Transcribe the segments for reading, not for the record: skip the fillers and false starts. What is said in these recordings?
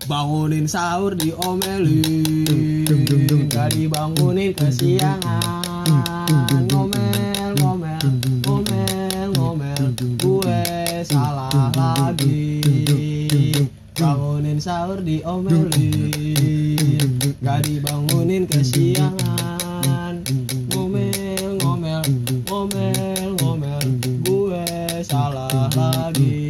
Bangunin sahur diomelin, gak dibangunin kesiangan. Ngomel, ngomel, ngomel, ngomel, gue salah lagi. Bangunin sahur diomelin, gak dibangunin kesiangan. Ngomel, ngomel, ngomel, ngomel, gue salah lagi.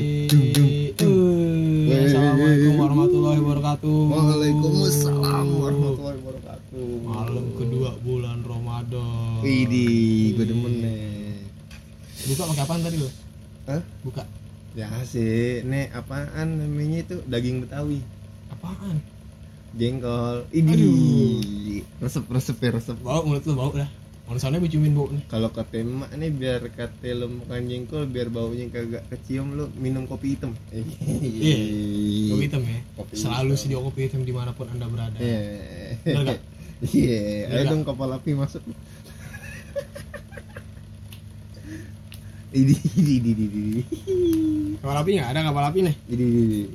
Assalamualaikum warahmatullahi wabarakatuh. Waalaikumsalam warahmatullahi wabarakatuh. Malam kedua bulan Ramadan. Widih, gue demen nih. Buka pakai apaan tadi lo? Hah? Buka. Ya sih, nih apaan namanya itu? Daging Betawi. Apaan? Jengkol. Aduh. Idih. Resep ya. Bau mulut lo bau dah. Manusianya berciumin bau nih. Kalau kata emak nih biar kata lo makan jengkol biar baunya kagak kecium lo minum kopi hitam. Iya. Kopi hitam ya. Kopi Selalu hitam. sedia kopi hitam dimanapun anda berada. Iya. Bener gak? Iya. Bener Ayo gak? dong kapal api masuk. Idih. Kapal api nggak? Ada kapal api nih. Idih.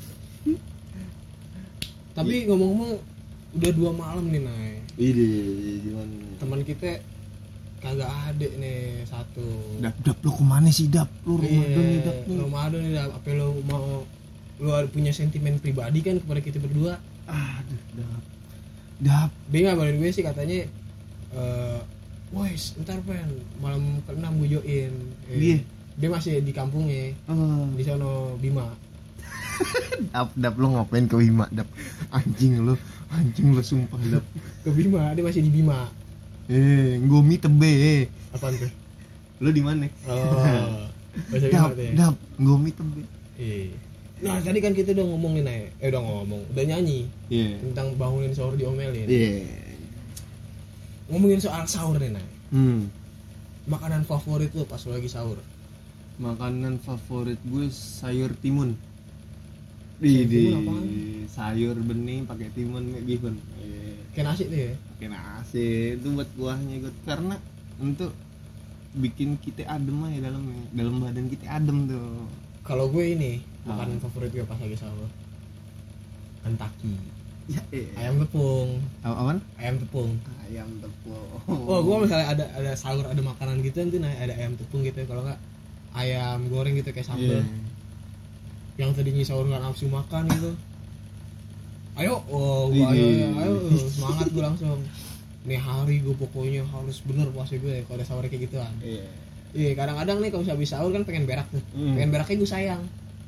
Tapi ngomong-ngomong udah 2 malam nih Nay. Idih, gimana? Teman kita kagak ada nih satu. Dap lo kemana sih Dap? Lu Ramadan nih Dap nih. Ramadan nih Dap. Apa lo mau lu ada punya sentimen pribadi kan kepada kita berdua? Aduh, Dap. Dia ngabarin gue sih katanya boys, ntar pen malam ke-6 gue join. Iya. Dia masih di kampungnya di sono Bima. Dap lo ngapain ke Bima Dap? Anjing lo sumpah Dap. Ke Bima, dia masih di Bima. Gomi tebe. Apaan tuh? Lo di mana? Oh. Bahasa Bima tuh ya. Dap, Gomi tebe. Iya. Nah, tadi kan kita udah ngomongin udah nyanyi Iya. tentang bangunin sahur diomelin. Iya. Ngomongin soal sahur nih, Nay. Makanan Makanan favorit lo pas lo lagi sahur? favorit gue sayur timun. Timun apaan? Sayur bening pakai timun bihun. Kayak nasi tuh ya. Pakai nasi itu buat kuahnya gue karena untuk bikin kita adem aja dalam badan kita adem tuh. Kalau gue ini makanan favorit gue pas lagi sahur Kentucky. Ya, Ayam tepung. Apaan? Ayam tepung. Ayam tepung. Oh, gue misalnya ada sahur ada makanan gitu nanti ada ayam tepung gitu. Kalau nggak ayam goreng gitu kayak sambal. Yang tadinya sahur nggak nafsu makan gitu. Ayo, ayo, semangat gue langsung. Nih hari gue pokoknya harus bener puasa gue kalau ada sahur kayak gituan. Iya, kadang-kadang nih kalau habis sahur kan pengen berak tuh. Pengen beraknya gue sayang.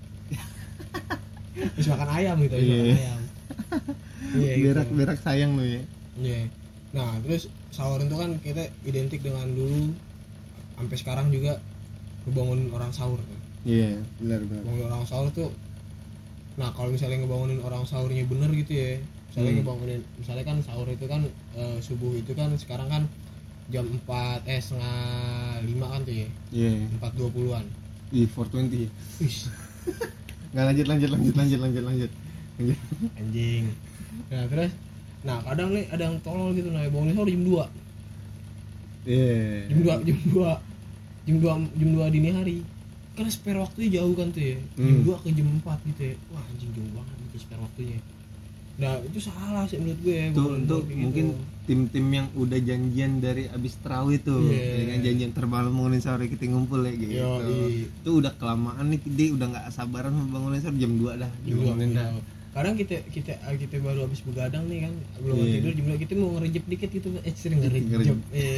Terus makan ayam gitu, makan ayam. Iya, berak sayang lo ya. Iya. Nah, terus sahur itu kan kita identik dengan dulu sampai sekarang juga ngebangunin orang sahur. Iya, benar. Ngebangunin orang sahur tuh. Nah, kalau misalnya ngebangunin orang sahurnya bener gitu ya. Misalnya kan sahur itu kan subuh itu kan sekarang kan jam 4 setengah 5 kan tuh ya. Iya. 4.20-an. 4:20. Wih, Enggak lanjut. anjing. Nah, terus kadang nih ada yang tolol gitu nah bangunin sahur jam 2. Iya. Jam 2 dini hari. Kan spare waktunya jauh kan tuh ya. Jam 2 ke jam 4 gitu ya. Wah, anjing jauh banget gitu spare waktunya. Nah, itu salah sih menurut gue. Tuh untuk mungkin tim-tim yang udah janjian dari abis tarawih tuh, ya kan janjian termalam bangunin sahur kita ngumpul ya gitu. Itu udah kelamaan nih dia udah enggak sabaran mau bangunin sahur jam 2 dah. Bangunin dah. Kadang kita baru habis begadang nih kan, belum tidur jam 2 kita mau ngerejep dikit gitu. Sering ngerejep.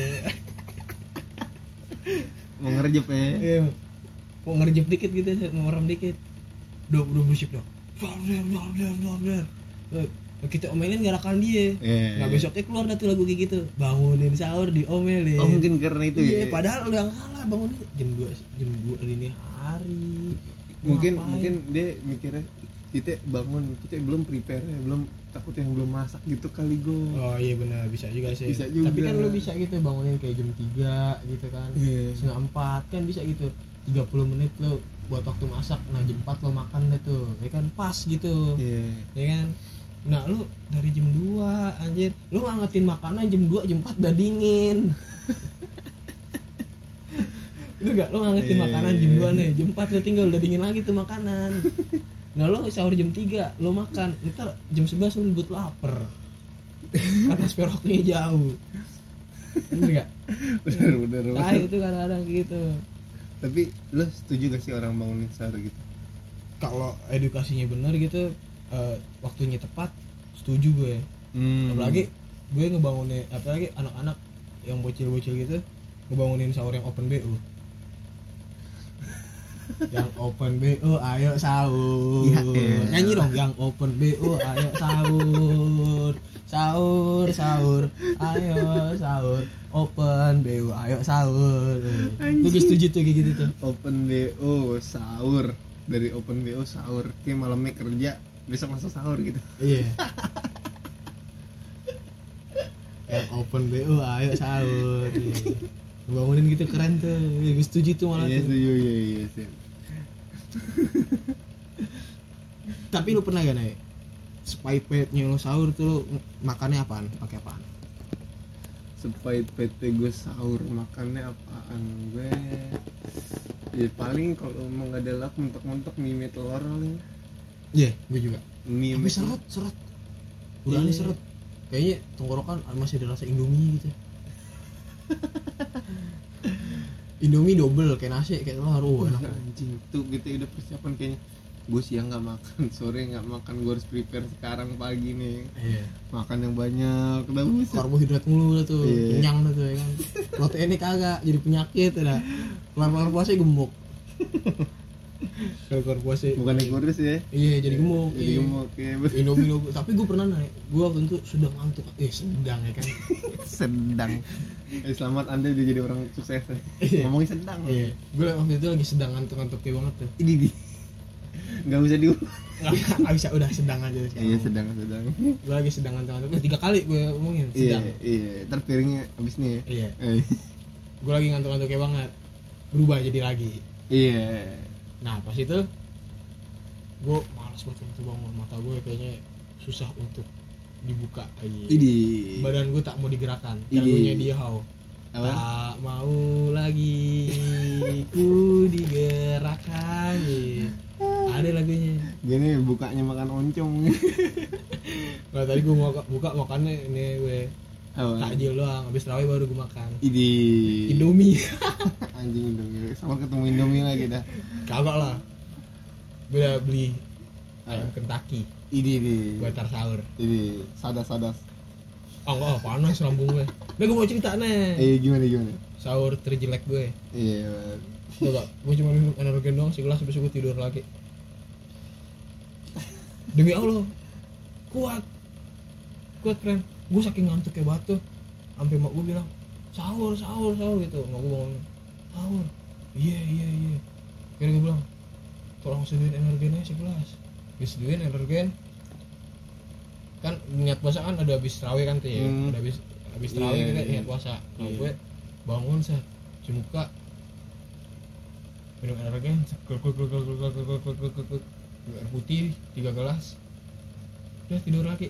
Mau ngerejep ya. Iya. Mau ngerejep dikit gitu, mau merem dikit. Udah berisik dah. Kita omelin gerakan dia. Nah besoknya keluar dah tuh lagu kayak gitu. Bangunin sahur diomelin. Oh mungkin karena itu ya. Iya, padahal udah kalah bangunin jam 2 dini hari. Mungkin dia mikirnya kita bangun kita belum prepare ya, belum takut yang belum masak gitu kali go. Oh iya benar, bisa juga sih. Bisa juga. Tapi kan lu bisa gitu bangunin kayak jam 3 gitu kan. Setengah 4 kan bisa gitu. 30 menit lu buat waktu masak. Nah jam 4 lo makan deh tuh. Ya kan pas gitu. Ya kan. Nah lu dari jam 2 anjir, lu ngangetin makanan jam 2 jam 4 udah dingin. Lu gak, lu ngangetin makanan jam 2 nih, jam 4 lu tinggal udah dingin lagi tuh makanan. Nah lo sahur jam 3 lo makan, ntar jam 11 lo buat lapar karena sporoknya jauh. Bener gak? Bener. Nah itu kadang-kadang gitu. Tapi lo setuju gak sih orang bangunin sahur gitu? Kalau edukasinya benar gitu, waktunya tepat, setuju gue. Apalagi gue ngebangunin, apalagi anak-anak yang bocil-bocil gitu ngebangunin sahur yang open BO. Yang open BO ayo sahur. Ya, nyanyi dong, yang open BO ayo sahur. Sahur ayo sahur, open BO ayo sahur. Gue setuju tuh kayak gitu tuh. Open BO sahur, dari open BO sahur, kayak malamnya kerja besok langsung sahur gitu. Iya. Yang open BO ayo sahur. Bangunin gitu keren tuh. Gue setuju tuh malah tuh. Iya sih. Tapi lu pernah gak naik sepahit-pahitnya lo sahur tuh lo makannya apaan? Pakai apaan? Sepahit-pahitnya gue sahur makannya apaan? Gue ya paling kalau emang gak ada lauk mentok-mentok mie telur paling. Iya, gue juga. Mie tapi seret. Udah aneh seret. Kayaknya tenggorokan masih ada rasa Indomie gitu. Indomie double kayak nasi kayak telur. Enak anjing. Tuh gitu udah persiapan kayaknya. Gue siang nggak makan, sore nggak makan, gue harus prepare sekarang pagi nih. Iya. Makan yang banyak, udah buset. Karbohidrat mulu lah tuh, kenyang tuh ya kan. Proteinnya kagak, jadi penyakit dah. Kelar puasa gemuk. Kelar puasa. Bukan kurus ya? Iya, jadi gemuk. Jadi gemuk ya. Indomie. Tapi gue pernah naik. Gue waktu itu sedang ngantuk. Sedang ya kan. Sedang. Selamat Anda udah jadi orang sukses. Ngomongin sedang. Iya. Gue waktu itu lagi sedang ngantuk banget tuh. Ini nggak usah nggak bisa, udah sedang aja sekarang. Iya sedang gue lagi sedang ngantuk 3 kali gue ngomongin sedang. Iya ntar piringnya abis nih ya. Iya. Gue lagi ngantuk-ngantuknya banget, berubah jadi lagi. Iya. Nah pas itu gue malas banget bangun, mata gue kayaknya susah untuk dibuka lagi. Badan gue tak mau digerakkan. Lagunya dia how tak mau lagi ku digerakkan. Ada lagunya. Gini bukanya makan oncom. Nah tadi gue mau buka makannya ini gue takjil doang, habis tarawih baru gue makan. Indomie. Anjing Indomie. Sama ketemu Indomie lagi dah. Kagak lah. Gue udah beli ayam Kentucky. Buat tar sahur. Sadas. Enggak, panas lambung gue. Nah gue mau cerita nih. Gimana? Sahur terjelek gue. Iya. Enggak, gue cuma minum energen doang segelas, habis gue tidur lagi. Demi Allah, kuat friend. Gue saking ngantuk kayak batu, sampai mak gue bilang sahur gitu. Mak gue bangun sahur. Iya. Akhirnya gue bilang tolong sediain energennya segelas. Disediain energen. Kan niat puasa kan ada habis tarawih kan tuh ya. Ada habis tarawih kita niat puasa. Nah gue bangun cuci muka, minum energen, air putih 3 gelas, udah tidur lagi.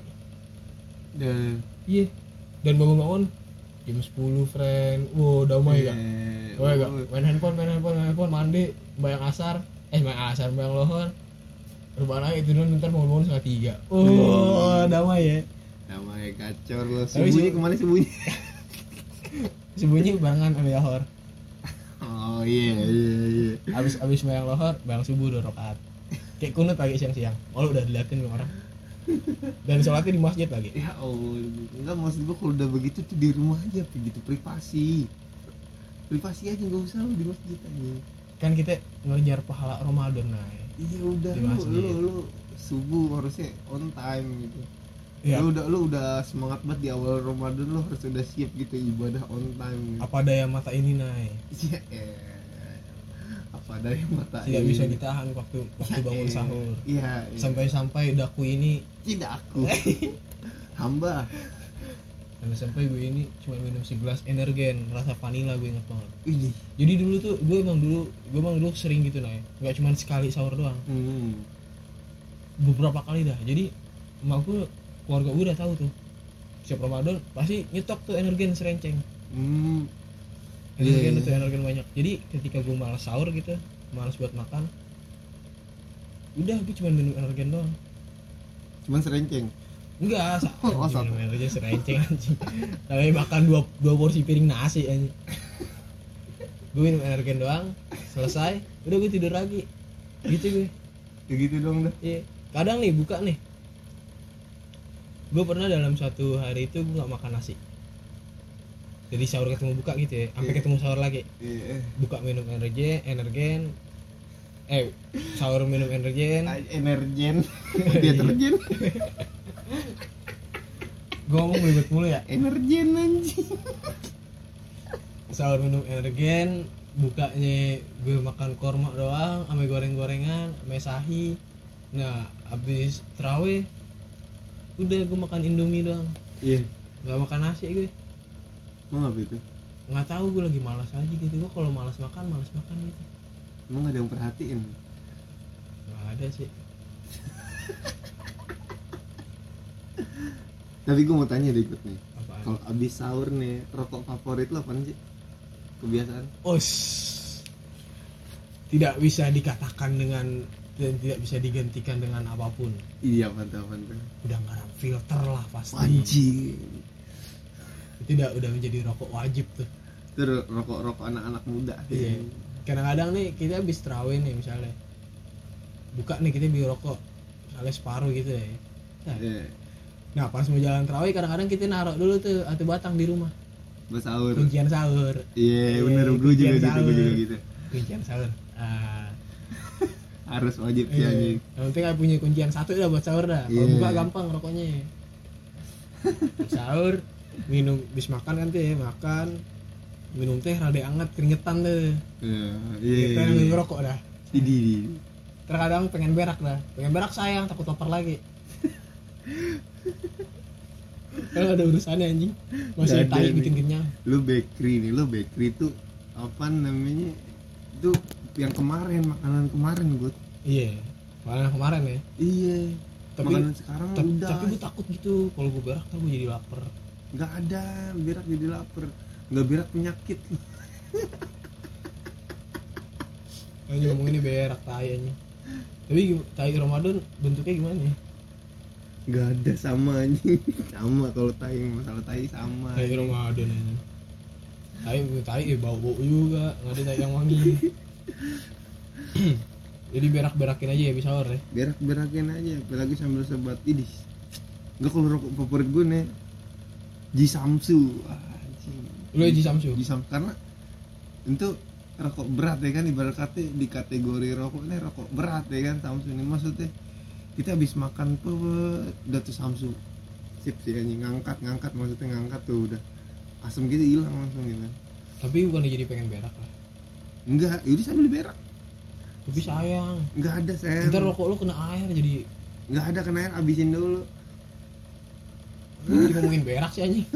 Iya. Dan bangun jam 10 friend. Wow damai gak? Main handphone, mandi, bayang asar, bayang lohor, rebahan lagi tidur, ntar bangun 2:30. Damai ya. Damai kacor lo. Sembunyi kemana sembunyi? Sembunyi barengan sama lohor. Oh iya. Abis bayang lohor, bayang subuh 2 rakaat. Kayak kunut pagi siang-siang. Lo udah diliatin orang. Dan sholatnya di masjid lagi. Ya Allah, enggak maksud gua kalau udah begitu tuh di rumah aja begitu privasi aja, nggak usah lu di masjid aja. Kan kita ngejar pahala Ramadan Iya udah lu subuh harusnya on time gitu. Ya. Lu udah semangat banget di awal Ramadan, lu harus udah siap gitu ibadah on time gitu. Apa daya mata ini Iya. Apa daya mata tidak bisa ditahan waktu bangun sahur. Iya. Sampai daku ini tidak aku. Hamba. Sampai gue ini cuma minum segelas energen rasa vanila, gue inget banget. Ini. Jadi dulu tuh gue emang dulu sering gitu nggak cuma sekali sahur doang. Beberapa kali dah. Jadi emak gue, keluarga gue udah tahu tuh setiap Ramadan pasti nyetok tuh energen serenceng. Energen banyak. Jadi ketika gue malas sahur gitu, malas buat makan, Udah gue cuma minum energen doang. Cuman serenceng. Enggak, Oh, minum energen serenceng anjing. Tapi makan dua porsi piring nasi anjing. Gue minum energen doang, selesai, udah gue tidur lagi. Gitu gue. Ya gitu dong dah. Iya. Kadang nih buka nih. Gue pernah dalam satu hari itu gue gak makan nasi. Jadi sahur ketemu buka gitu ya, sampai ketemu sahur lagi. Buka minum energen. Sahur minum energen. Deterjen. Gue ngomong ribet mulu ya. Energen anjing. Sahur minum energen, bukanya gue makan korma doang, sama goreng-gorengan, sama sahi. Nah, abis terawih udah gue makan indomie doang. Iya. Gak makan nasi gue. Mau apa itu? Nggak tahu, gue lagi malas aja gitu. Gue kalau malas makan gitu. Emang gak ada yang perhatiin? Nggak ada sih. Tapi gue mau tanya deh ikut nih. Apaan? Kalau abis sahur nih, rokok favorit lo apaan sih? Kebiasaan? Tidak bisa dikatakan dengan dan tidak bisa digantikan dengan apapun. Iya, mantap. Udah nggak ada filter lah pasti. Anjing. Itu udah menjadi rokok wajib tuh. Itu rokok anak-anak muda. Iya. Kadang-kadang nih kita habis terawih nih misalnya, buka nih kita beli rokok misalnya separuh gitu ya. Nah pas mau jalan terawih kadang-kadang kita naruh dulu tuh atau batang di rumah. Buat sahur. Kuncian sahur. Iya, bener, gue juga gitu. Kuncian sahur. Harus wajib sih anjing. Yang penting gak punya kuncian satu dah buat sahur dah. Kalau buka gampang rokoknya. Sahur, minum bis makan kan tuh ya, makan, minum teh rada anget keringetan tuh. Iya. Kita yang ngerokok dah. Idi. Terkadang pengen berak sayang, takut lapar lagi. Kalau ada urusannya anjing, masih tai bikin kenyang. Lu bakery tuh apa namanya? Itu yang makanan kemarin gue. Iya, makanan kemarin ya. Iya. Tapi makanan sekarang udah. Tapi gue takut gitu, kalau gue berak kan gue jadi lapar. Nggak ada berak jadi lapar, nggak berak penyakit. Anjing ngomong ini berak tai anjing. Tapi tai Ramadan bentuknya gimana ya? Nggak ada sama anjing. Sama kalau tai, masalah tai sama. Tai Ramadan anjing. Tai bau juga, nggak ada tai yang wangi. Jadi berak-berakin aja ya bisa sahur ya. Berak-berakin aja, apalagi sambil sebat idis. Enggak, kalau rokok favorit gue nih Jisamsu. Anjing. Lu Jisamsu karena itu rokok berat ya kan, ibarat kata di kategori rokok ini rokok berat ya kan. Samsu ini maksudnya kita habis makan udah tuh Samsu sip sih anjing, ngangkat maksudnya ngangkat tuh udah asam gitu hilang langsung gitu. Tapi bukan jadi pengen berak lah. Enggak, itu sambil berak. Tapi sayang. Enggak ada sayang. Ntar rokok lu kena air jadi. Enggak ada kena air, abisin dulu. Jadi ngomongin berak sih anjing.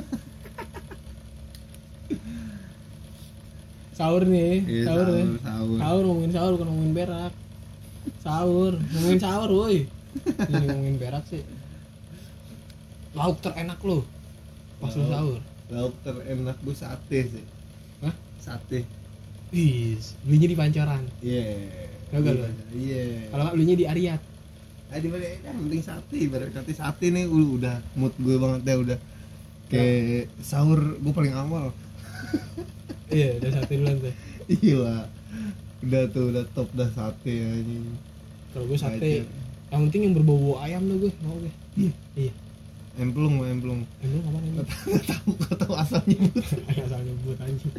Sahur nih, iya, sahur ngomongin sahur bukan ngomongin berak. Ngomongin sahur woi. Jadi ngomongin berak sih. Lauk terenak lu pas lu sahur. Lauk terenak gue sate sih. Hah? Sate. Belinya di Pancoran. Iya. Kagak lu? Iya. Kalau nggak belinya di Ariat. Di mana yang penting sate, ibarat kata sate nih udah mood gue banget deh udah. Kayak sahur gue paling awal. Iya, udah sate duluan tuh. Iya. Udah top dah sate anjing. Kalau gue sate, yang penting yang berbau ayam tuh gue mau gue. Iya. Emplung. Emplung apa namanya? Gak tahu asal nyebut. Asal nyebut anjing.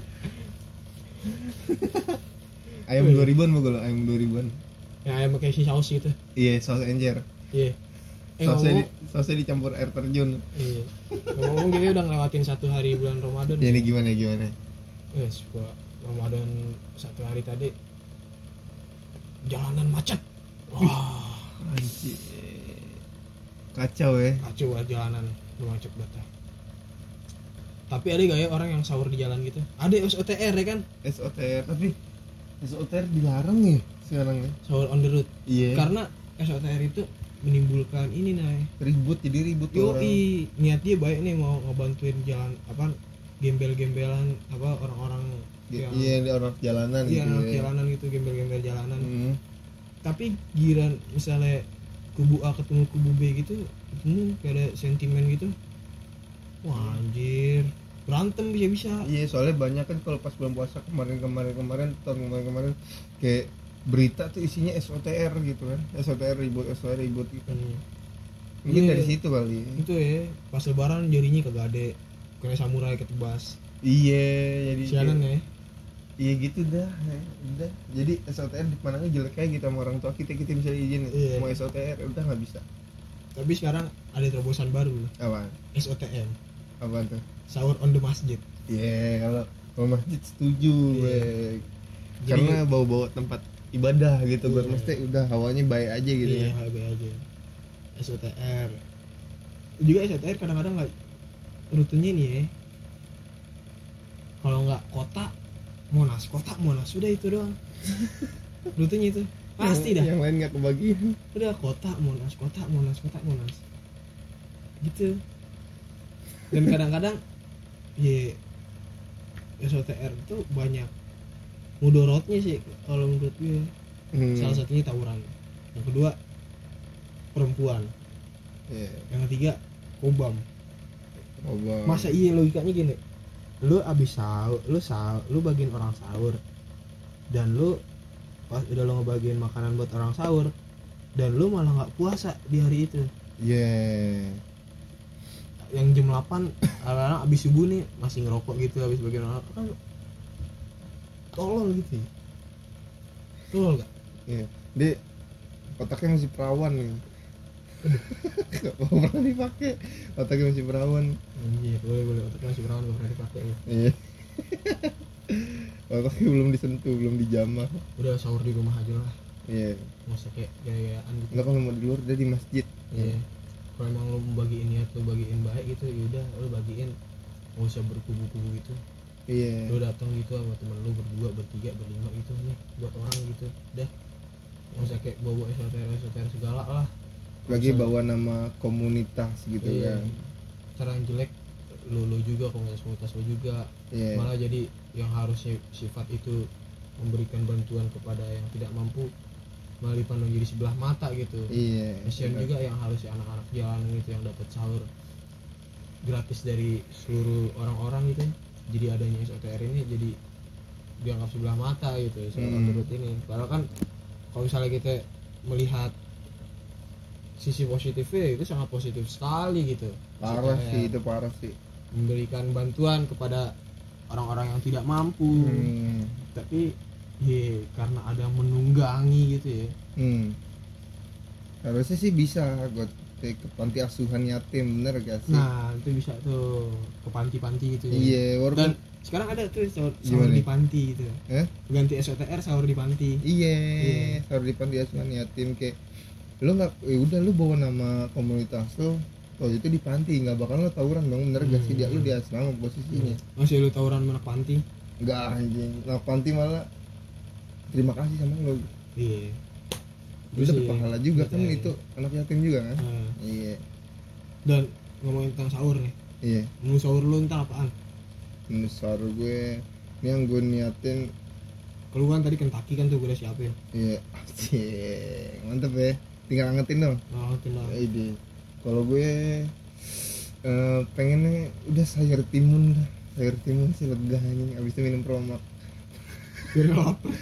Ayam 2000-an mau gue lo, ayam 2000-an. Yang ayam pakai si saus gitu. Iya, saus encer. Iya. Sausnya dicampur air terjun. Iya. Ngomong kita udah ngelewatin satu hari bulan Ramadan. Ya ini gimana? Yes, gua Ramadan satu hari tadi jalanan macet. Wah, anjir. Kacau ya. Kacau banget jalanan, macet banget. Tapi ada gak ya orang yang sahur di jalan gitu? Ada SOTR ya kan? SOTR, tapi SOTR dilarang ya sekarang ya. Sahur on the road. Iya. Karena SOTR itu menimbulkan ini ribut orang. Niat dia baik nih mau ngebantuin jalan apa gembel-gembelan apa orang-orang yang orang jalanan gitu. Iya, ya. jalanan gitu, gembel-gembel jalanan. tapi giran misalnya kubu A ketemu kubu B gitu ketemu kayak ada sentimen gitu, wah anjir berantem bisa. Iya, soalnya banyak kan kalau pas bulan puasa kemarin tahun kemarin kayak berita tuh isinya SOTR gitu kan, SOTR ribut gitu. Mungkin dari situ kali. Itu ya, pas lebaran jadinya kagak ada, kayak samurai ketebas. Iya, jadi sialan ya. Iya gitu dah, udah. Jadi SOTR dipandangnya jelek kayak gitu sama orang tua kita bisa izin mau SOTR udah nggak bisa. Tapi sekarang ada terobosan baru. Apa? SOTM. Apa tuh? Sahur on the masjid. Iya, kalau masjid setuju, karena bawa tempat ibadah gitu, buat mesti udah hawanya baik aja gitu. Iya, baik aja. SOTR. Juga SOTR kadang-kadang nggak rutenya nih ya. Kalau nggak kota Monas, udah itu doang. Rutenya itu pasti dah. Yang lain nggak kebagian. Udah kota Monas. Gitu. Dan kadang-kadang ya SOTR itu banyak mudorotnya sih kalau menurut gue. Salah satunya tawuran. Yang kedua perempuan. Yang ketiga kobam. Masa iya logikanya gini, lu abis sahur, lu bagiin orang sahur, dan lu pas udah lu ngebagiin makanan buat orang sahur, dan lu malah nggak puasa di hari itu. Yang jam 8 anak abis subuh nih masih ngerokok gitu, abis bagian orang kan tolol gitu ya. Tolol gak? Iya, dia otaknya masih perawan nih. Gak pernah dipakai, otaknya masih perawan. Iya, boleh otaknya masih perawan, gak pernah dipakai. Iya. Otaknya belum disentuh, belum dijamah. Udah sahur di rumah aja lah. Iya. Nggak usah kayak gaya-gayaan gitu. Nggak, kalau mau di luar dia di masjid. Iya. Kalau emang lo bagiin niat lo bagiin baik gitu, yaudah lo bagiin, nggak usah berkubu-kubu gitu. Iya. Lo datang gitu sama temen lo berdua, bertiga, berlima gitu nih buat orang gitu, dah. Nggak usah kayak bawa SOTR segala lah. Lagi bawa nama komunitas gitu kan. Cara yang jelek lo juga, komunitas lo juga. Malah jadi yang harusnya sifat itu memberikan bantuan kepada yang tidak mampu malah dipandang jadi sebelah mata gitu. Kasian juga yang harusnya anak-anak jalan gitu yang dapat sahur gratis dari seluruh orang-orang gitu. Jadi adanya SOTR ini jadi dianggap sebelah mata gitu menurut ini. Padahal kan kalau misalnya kita melihat sisi positifnya itu sangat positif sekali gitu. Parah sih, itu parah sih. Memberikan bantuan kepada orang-orang yang tidak mampu. Tapi karena ada yang menunggangi gitu ya. Harusnya sih bisa buat ke panti asuhan yatim, bener gak sih? Nah, itu bisa tuh ke panti-panti gitu ya. Iya, dan sekarang ada tuh sahur di panti gitu. Ganti SOTR sahur di panti. Iya, sahur di panti asuhan yatim. Kayak lu nggak, udah lu bawa nama komunitas lo, kalau itu di panti nggak bakal lo tawuran dong, bener gak sih? Dia lu di asrama posisinya. Masih lu tawuran anak panti? Nggak anjing, anak panti malah terima kasih sama lo. Iya. Lu dapet pahala juga kan, itu anak yatim juga kan. Iya. Dan ngomongin tentang sahur nih. Iya. Menu sahur lu ntar apaan? Menu sahur gue, ini yang gue niatin. Keluhan tadi Kentucky kan tuh gue udah siapin. Iya, asik, mantep ya. Tinggal angetin dong. Angetin dong. Ide. Kalau gue pengennya udah sayur timun dah. Sayur timun sih lega anjing, abis itu minum promak. Biar gak lapar.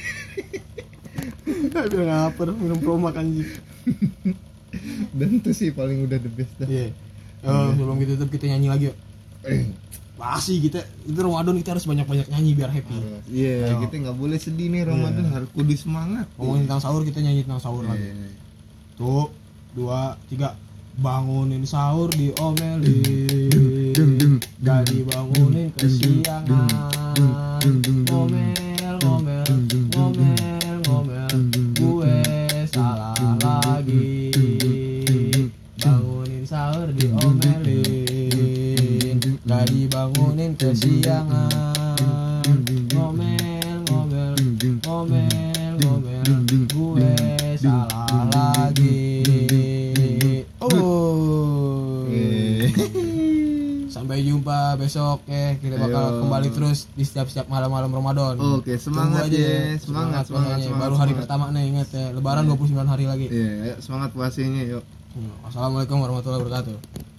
Biar gak lapar, minum promak anjing. Dan itu sih paling udah the best dah. Iya. Sebelum kita tutup kita nyanyi lagi yuk. Pasti kita itu Ramadan kita harus banyak-banyak nyanyi biar happy. Iya, kita nggak boleh sedih nih Ramadan, harus kudu semangat. Ngomongin tentang sahur, kita nyanyi tentang sahur lagi. Tuh, 2, 3. Bangunin sahur diomelin, gak dibangunin kesiangan. Ngomel, gue salah lagi. Bangunin sahur diomelin, gak dibangunin kesiangan. Ngomel, gue salah lagi. Sampai jumpa besok ya. Kita bakal kembali terus di setiap malam-malam Ramadan. Oke, semangat ya. Semangat. Baru hari pertama nih, ingat ya. Lebaran 29 hari lagi. Iya, semangat puasanya yuk. Assalamualaikum warahmatullahi wabarakatuh.